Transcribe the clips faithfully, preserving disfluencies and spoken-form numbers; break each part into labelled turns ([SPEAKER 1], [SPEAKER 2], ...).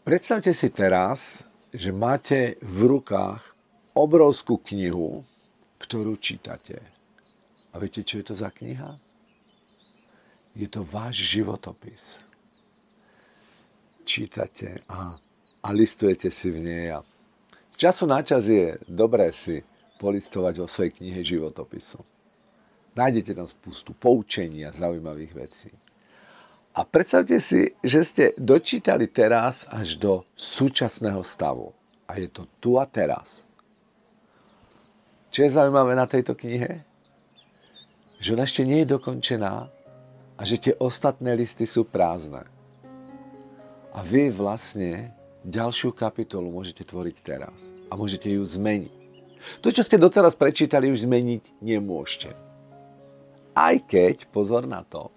[SPEAKER 1] Predstavte si teraz, že máte v rukách obrovskú knihu, ktorú čítate. A viete, čo je to za kniha? Je to váš životopis. Čítate a, a listujete si v nej. A z času na čas je dobré si polistovať vo svojej knihe životopisu. Nájdete tam spustu poučení a zaujímavých vecí. A predstavte si, že ste dočítali teraz až do súčasného stavu. A je to tu a teraz. Čo je zaujímavé na tejto knihe? Že ona ešte nie je dokončená a že tie ostatné listy sú prázdne. A vy vlastne ďalšiu kapitolu môžete tvoriť teraz. A môžete ju zmeniť. To, čo ste doteraz prečítali, už zmeniť nemôžete. Aj keď, pozor na to,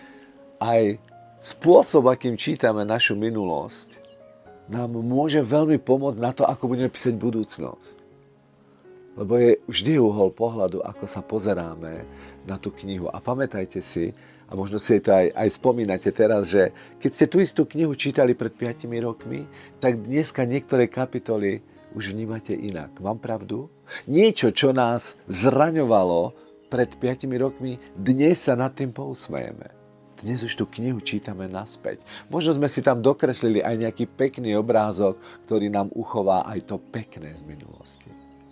[SPEAKER 1] aj spôsob, akým čítame našu minulosť, nám môže veľmi pomôcť na to, ako budeme písať budúcnosť. Lebo je vždy uhol pohľadu, ako sa pozeráme na tú knihu. A pamätajte si, a možno si to aj, aj spomínate teraz, že keď ste tú istú knihu čítali pred piatimi rokmi, tak dneska niektoré kapitoly už vnímate inak. Mám pravdu? Niečo, čo nás zraňovalo pred piatimi rokmi, dnes sa nad tým pousmejeme. Dnes už tú knihu čítame naspäť. Možno sme si tam dokreslili aj nejaký pekný obrázok, ktorý nám uchová aj to pekné z minulosti.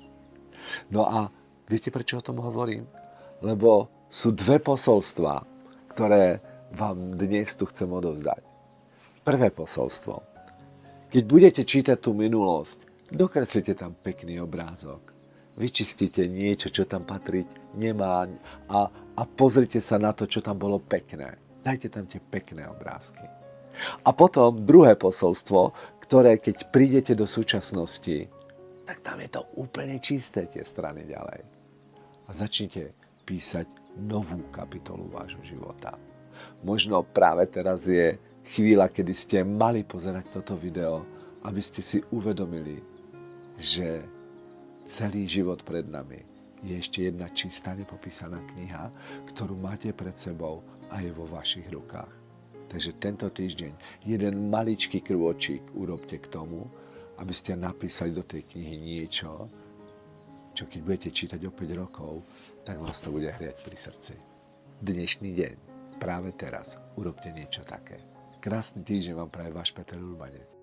[SPEAKER 1] No a viete, prečo o tom hovorím? Lebo sú dve posolstvá, ktoré vám dnes tu chcem odovzdať. Prvé posolstvo. Keď budete čítať tú minulosť, dokreslite tam pekný obrázok. Vyčistite niečo, čo tam patriť nemá a, a pozrite sa na to, čo tam bolo pekné. Dajte tam tie pekné obrázky. A potom druhé posolstvo, ktoré keď prídete do súčasnosti, tak tam je to úplne čisté tie strany ďalej. A začnite písať novú kapitolu vášho života. Možno práve teraz je chvíľa, kedy ste mali pozerať toto video, aby ste si uvedomili, že celý život pred nami je ešte jedna čistá nepopísaná kniha, ktorú máte pred sebou a je vo vašich rukách. Takže tento týždeň jeden maličký krôčik urobte k tomu, aby ste napísali do tej knihy niečo, čo keď budete čítať o päť rokov, tak vás to bude hriať pri srdci. Dnešný deň, práve teraz, urobte niečo také. Krásny týždeň vám praje váš Peter Urbanec.